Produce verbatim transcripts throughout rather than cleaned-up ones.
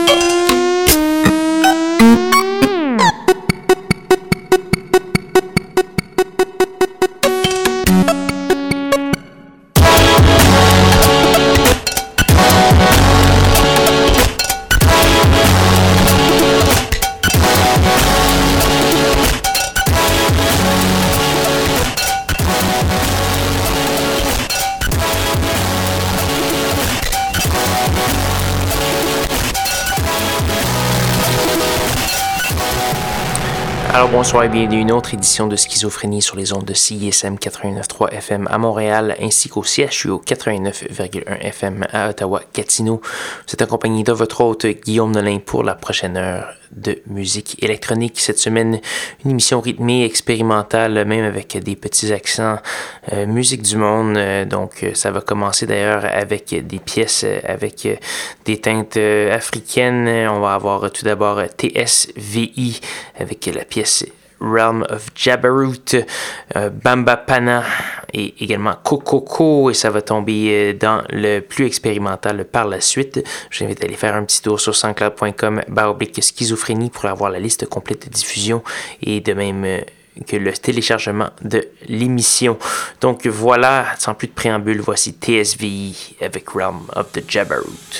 Alors bonsoir et bienvenue à une autre édition de Schizophrénie sur les ondes de C I S M quatre-vingt-neuf virgule trois F M à Montréal ainsi qu'au C H U O quatre-vingt-neuf virgule un F M à Ottawa-Gatineau. Vous êtes accompagné de votre hôte Guillaume Nolin pour la prochaine heure de musique électronique. Cette semaine, une émission rythmée, expérimentale, même avec des petits accents, euh, musique du monde. Euh, donc ça va commencer d'ailleurs avec des pièces avec des teintes africaines. On va avoir tout d'abord T S V I avec la pièce Realm of Jabarut, euh, Bamba Pana et également Kokoko, et ça va tomber dans le plus expérimental par la suite. Je vous invite à aller faire un petit tour sur soundcloud point com barre oblique schizophrénie pour avoir la liste complète de diffusion et de même euh, que le téléchargement de l'émission. Donc voilà, sans plus de préambule, voici T S V I avec Realm of the Jabarut.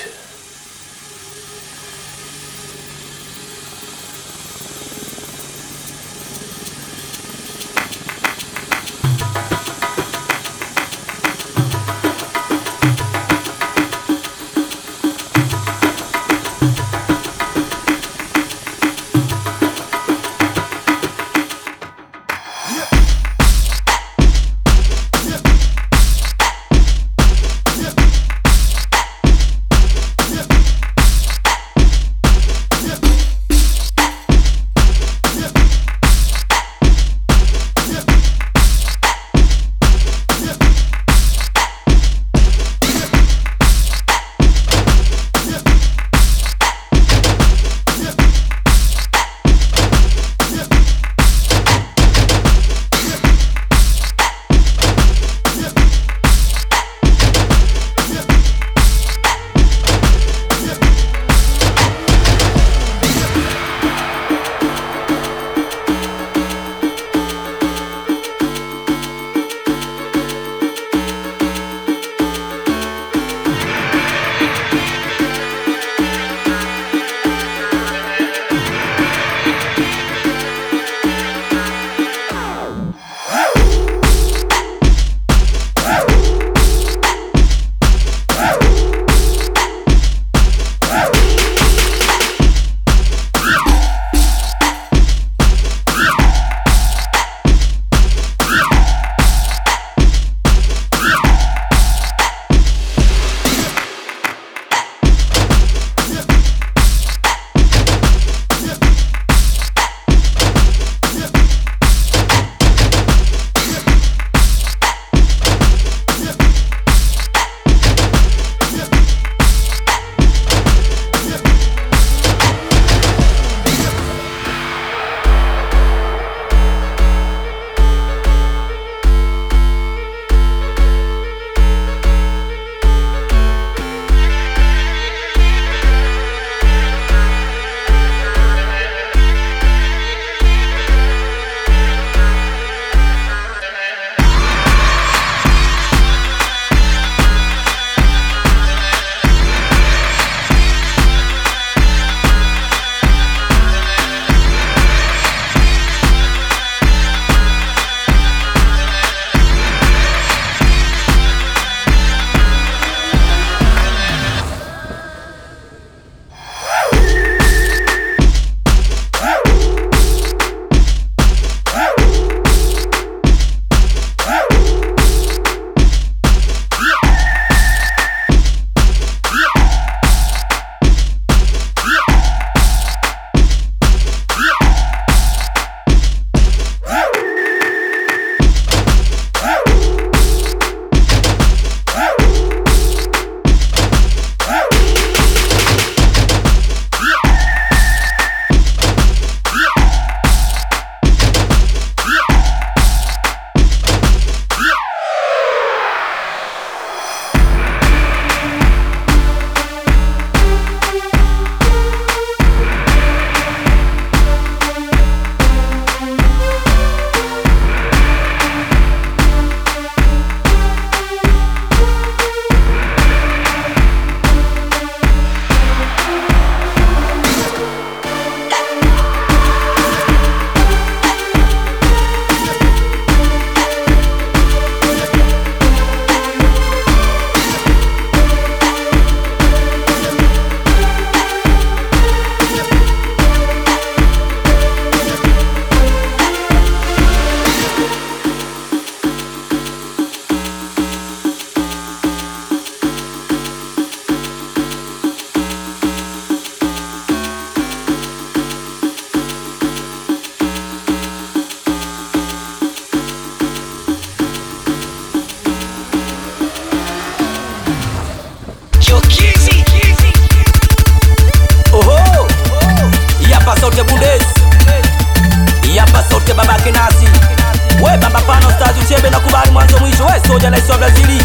sote Bundes. Yapa sote babake nasi. We bamba pano stars uchebe na kubali mwanzo mwisho. We soja na iswa Brazili.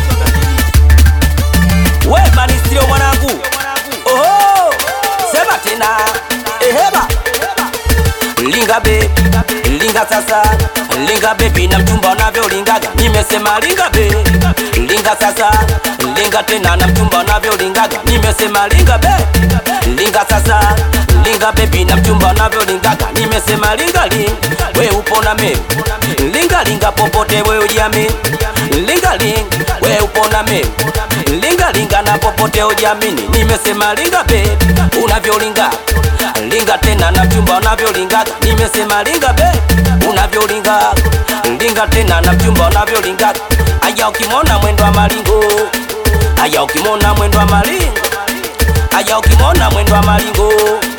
We manistrio mwanangu. Oho, sema tena. Eheba. Linga be, linga sasa. Linga baby na mchumba unavyo lingaga. Nimesema linga be, linga sasa. Linga tena na mchumba unavyo lingaga. Nimesema linga be, linga sasa. Linga baby na mchumba unavyo lingaga. Nimesema linga ling, we upo na me. Linga linga popote we ujiamini. Linga ling, we upo na me. Linga linga na popote ujiamini. Nimesema linga be, unavyo linga. Linga tena na mchumba unavyo lingaga. Nimesema linga be, unavyo linga. Linga tena na mchumba unavyo lingaga. Aya ukimona mwendo wa malingo. Aya ukimona mwendo wa malingo. Aya ukimona mwendo wa malingo.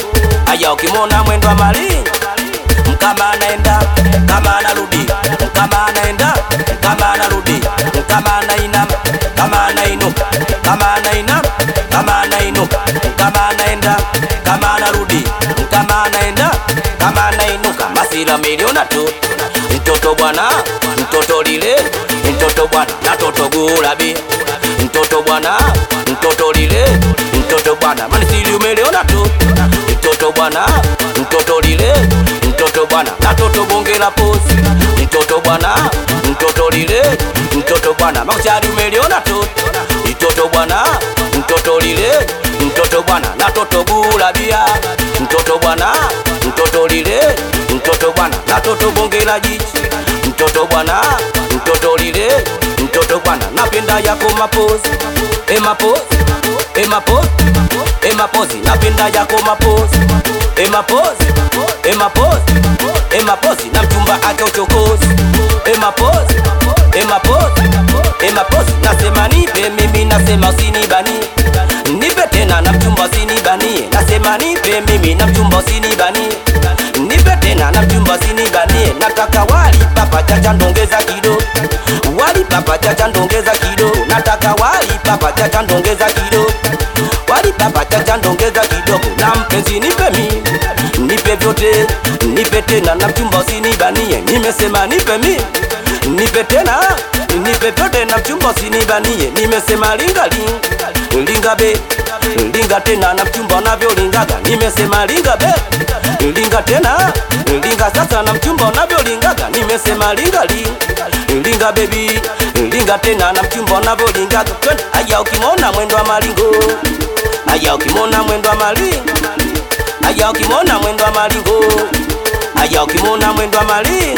Aya ukimona mwendo wa malingo. Mkama anaenda, kama anarudi. Mkama anaenda, kama anarudi. Mkama anainama, kama anainuka. Kama anainama, kama anainuka. Kama anaenda, kama anarudi. Mkama anaenda, kama anainuka. Masila miliona tu. Mtoto bwana, mtoto lile. Mtoto bwana, na toto gulabi. Mtoto bwana, mtoto lile. Mtoto bwana, manisili umeleona tu. Mtoto bwana, mtoto lile. Mtoto bwana, na toto bonge la posi. Mtoto bwana, mtoto lile. Mtoto bwana, makuchari umeleona tu. Mtoto bwana, mtoto lile. Mtoto bwana, na toto gulabia. Mtoto bwana, mtoto lile. Mtoto bwana, na toto bonge la jichi. Mtoto bwana, mtoto lile. Mtoto bwana, napenda yako mapozi. E mapozi, e mapozi, e mapozi, napenda yako mapozi. E mapozi, e mapozi, e mapozi, na mchumba ake uchokozi. E mapozi, e mapozi, e mapozi, nasema nipe mimi, nasema usinibani. Nipe tena na mchumba usinibanie. Nasema nipe mimi na mchumba usinibanie. Nipe tena na mchumba usinibanie. Nataka wali papa chacha ndongeza kido. Wali papa chacha ndongeza kido. Nataka wali papa chacha ndongeza kido. Wali papa chacha ndongeza kidogo. Na mpenzi nipe mimi, nipe vyote. Nipe tena na mchumba usinibanie. Nimesema nipe mimi, nipe tena. Nipe vyote na mchumba usinibanie. Nimesema linga ling, linga be. Linga tena na mchumba unavyo lingaga. Nimesema linga be, linga tena. Linga sasa na mchumba unavyo lingaga. Nimesema linga ling, linga baby. Linga tena na mchumba unavyo lingaga. Aya ukimona mwendo wa malingo. Aya ukimona mwendo wa malingo. Aya ukimona mwendo wa malingo. Aya ukimona mwendo wa malingo.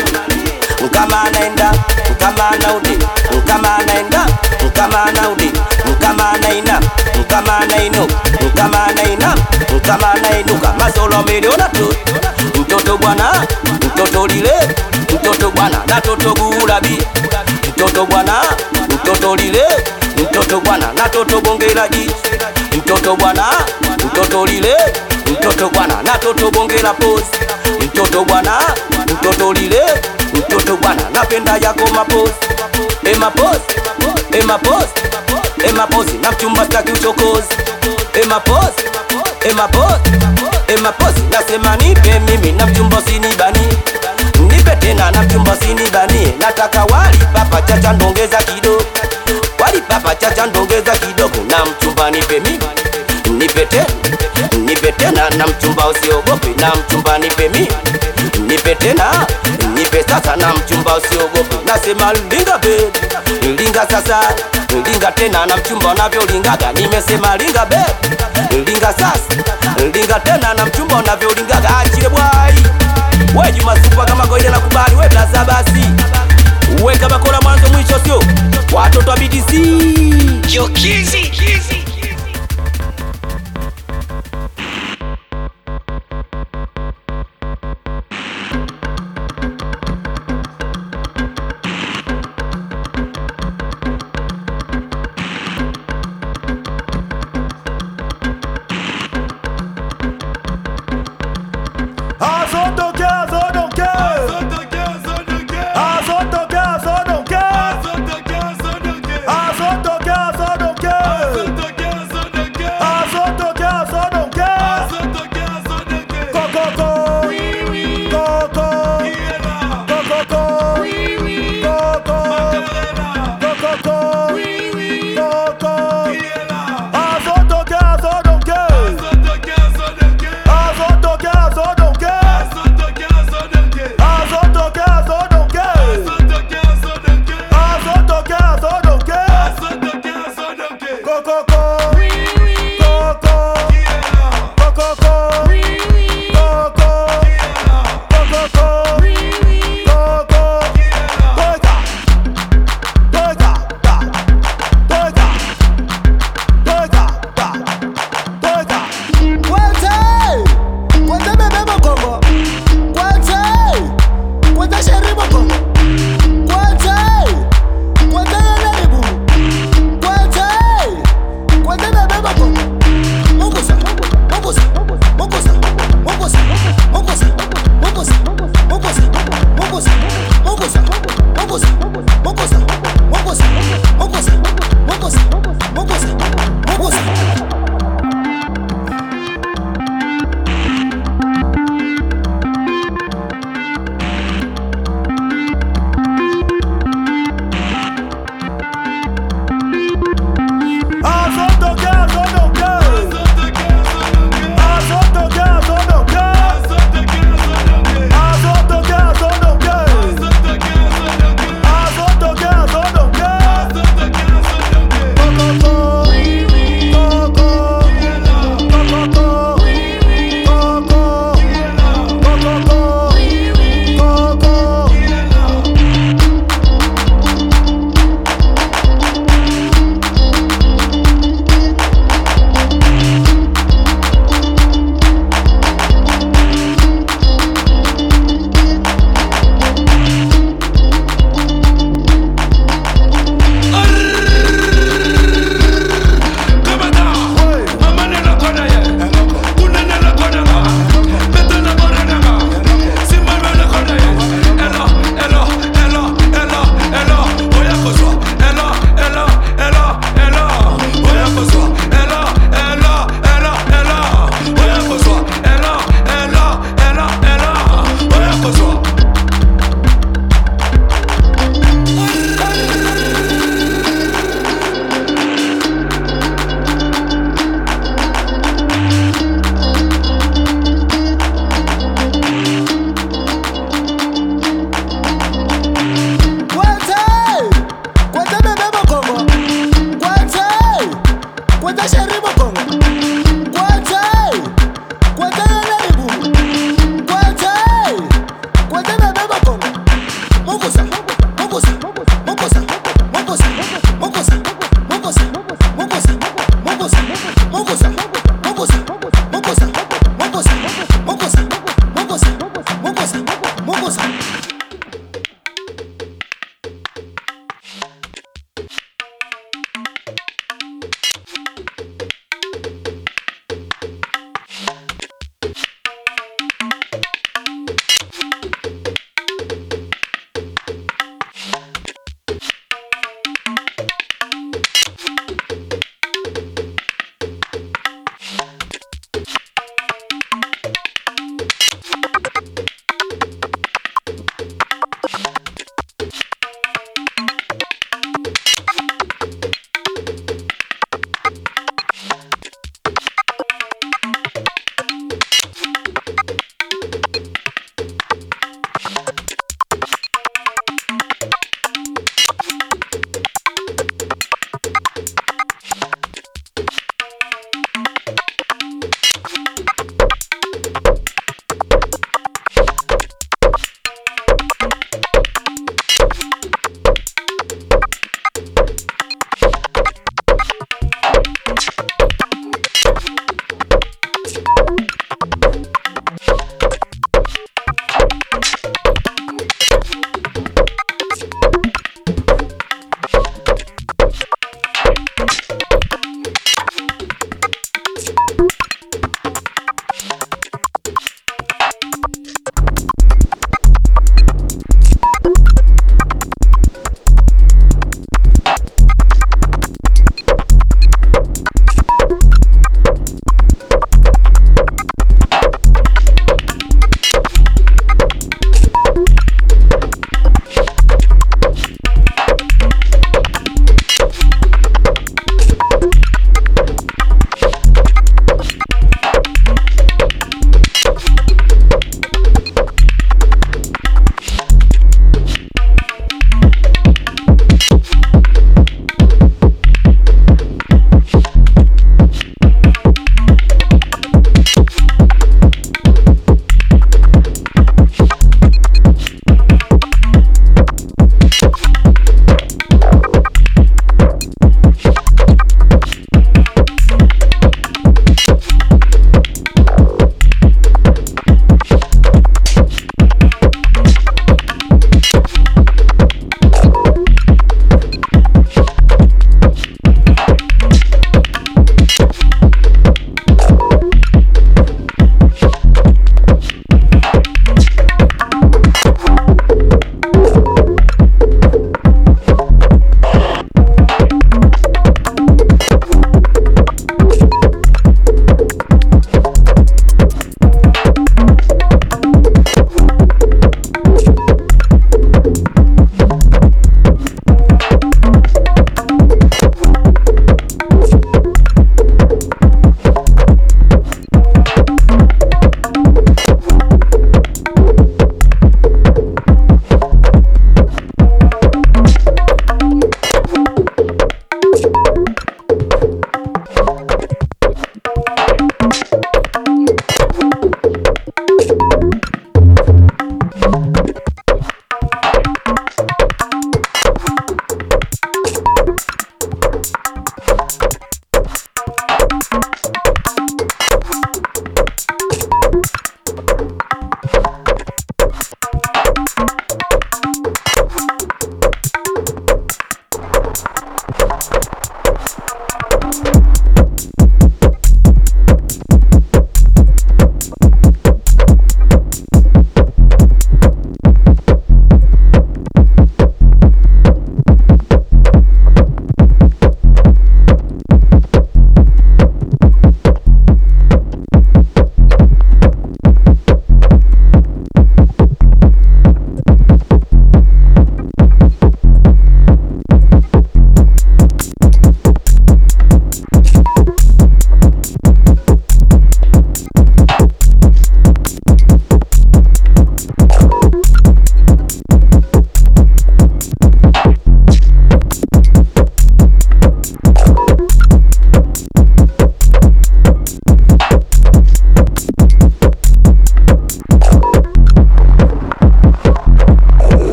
Mkama anaenda, mkama anaudi. Mkama anaenda, mkama anaudi. Mkama anaina, mkama anainu. Mkama anaina, mkama anainuka. Masolo miliona tu. Mtoto bwana, mtoto lile. Mtoto bwana, na toto gulabi. Mtoto bwana, mtoto lile. Mtoto bwana, na toto bonge la jichi. Mtoto bwana, mtoto lile. Mtoto bwana, na toto bonge la posi. Mtoto bwana, mtoto lile. Mtoto bwana, napenda yako maposi. E maposi, e maposi, e maposi, na mchumba staki uchokozi. E maposi, e maposi, e maposi, nasema nipe mimi na mchumba usinibani. Nipe tena na mchumba usinibani. Nataka wali papa chacha ndongeza kidogo. Wali papa chacha ndongeza kidogo. Na mchumba nipe mimi, nipe tena. Nipe tena na mchumba usiogope. Na mchumba nipe mimi, nipe tena. Nipe sasa na mchumba usiogope. Nasema linga be, linga sasa. Linga tena na mchumba unavyo lingaga. Nimesema linga be, linga sasa. Linga tena na mchumba unavyo lingaga. Achile bwai. We Juma Super kama goide na kubali. We blaza basi. We kama kola mwanzo mwisho sio. Watoto wa B D C. Yo Kizzy.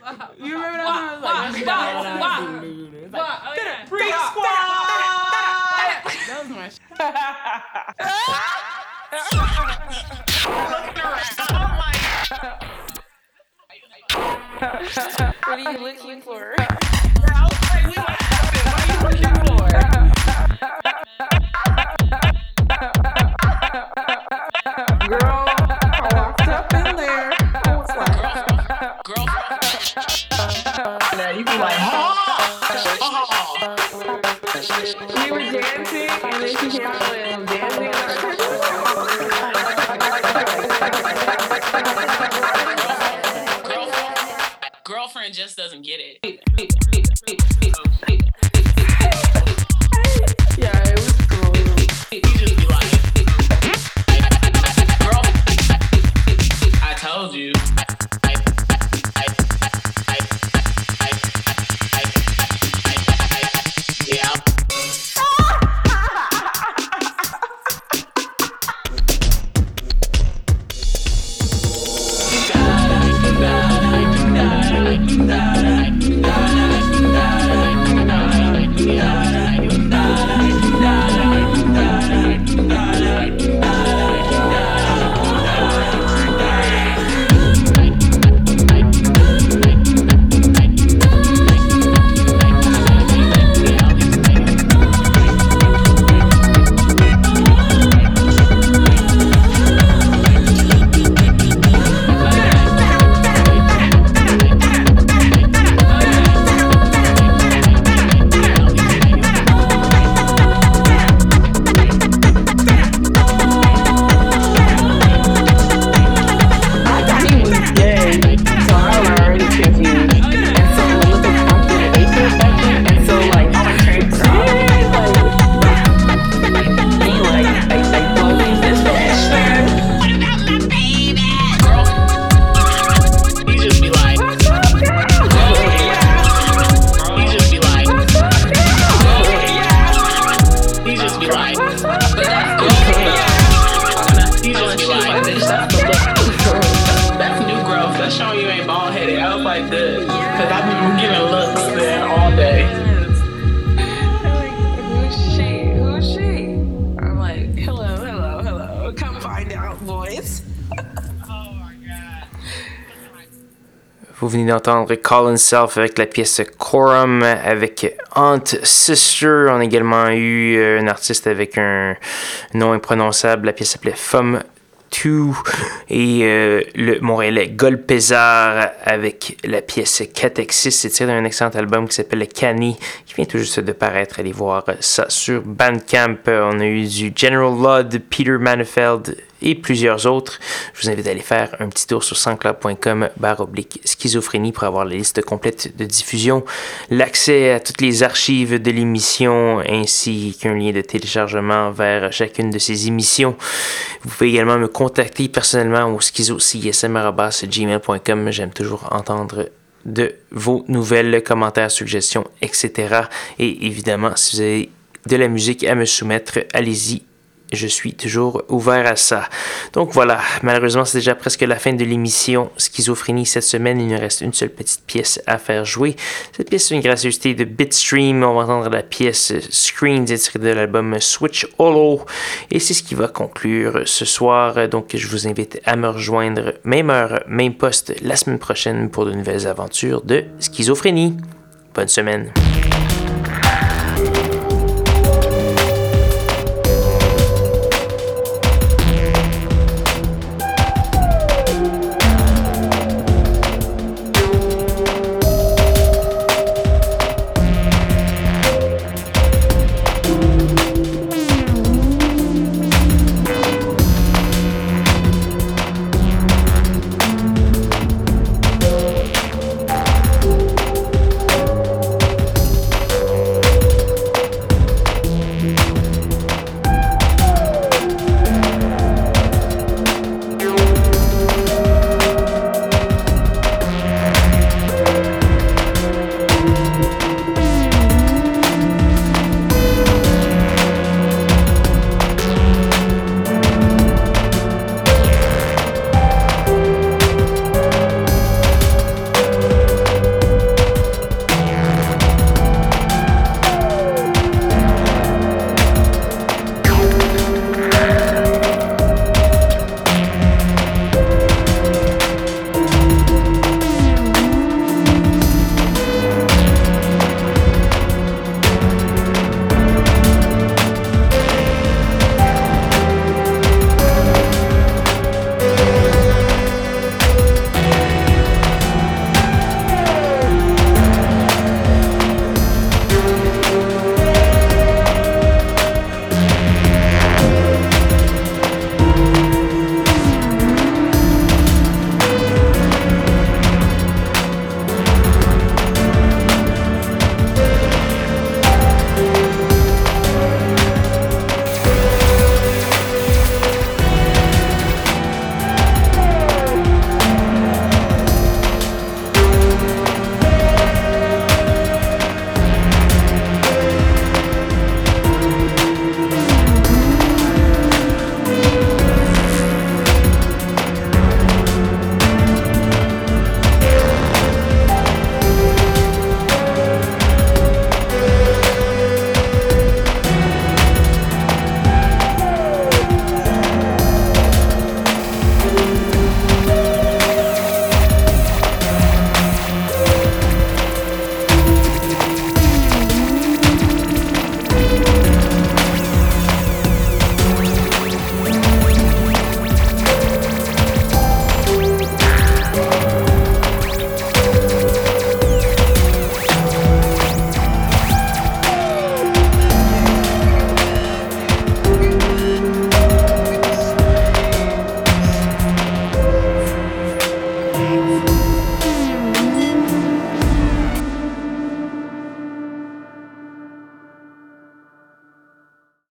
You remember that song? It was like, Wah, wah, wah. it's like, Wah, oh, yeah. Freak Squad! That was my shit. What are you looking for? I was like, we like, what are you looking for? Girl, I walked up in there. I was like, Girl. now you be like, we were dancing, and then she came out and dancing. Girlfriend just doesn't get it. Yeah, it was cool. You just be like, girl, I told you. Yeah. Vous venez d'entendre Colin Self avec la pièce Quorum avec Aunt Sister. On a également eu un artiste avec un nom imprononçable. La pièce s'appelait Femme deux et euh, le Montréalais Golpezar avec la pièce Catexis. C'est tiré d'un excellent album qui s'appelle Cani qui vient tout juste de paraître. Allez voir ça sur Bandcamp. On a eu du General Ludd, Peter Manifeld et plusieurs autres. Je vous invite à aller faire un petit tour sur soundcloud.com barre oblique schizophrénie pour avoir la liste complète de diffusion, l'accès à toutes les archives de l'émission ainsi qu'un lien de téléchargement vers chacune de ces émissions. Vous pouvez également me contacter personnellement au schizo c s m arobase gmail point com. J'aime toujours entendre de vos nouvelles, commentaires, suggestions, et cetera. Et évidemment, si vous avez de la musique à me soumettre, allez-y. Je suis toujours ouvert à ça. Donc voilà, malheureusement, c'est déjà presque la fin de l'émission Schizophrénie cette semaine. Il nous reste une seule petite pièce à faire jouer. Cette pièce est une gracieuseté de Bitstream. On va entendre la pièce Screens tirée de l'album Switch Hollow. Et c'est ce qui va conclure ce soir. Donc je vous invite à me rejoindre, même heure, même poste, la semaine prochaine pour de nouvelles aventures de Schizophrénie. Bonne semaine.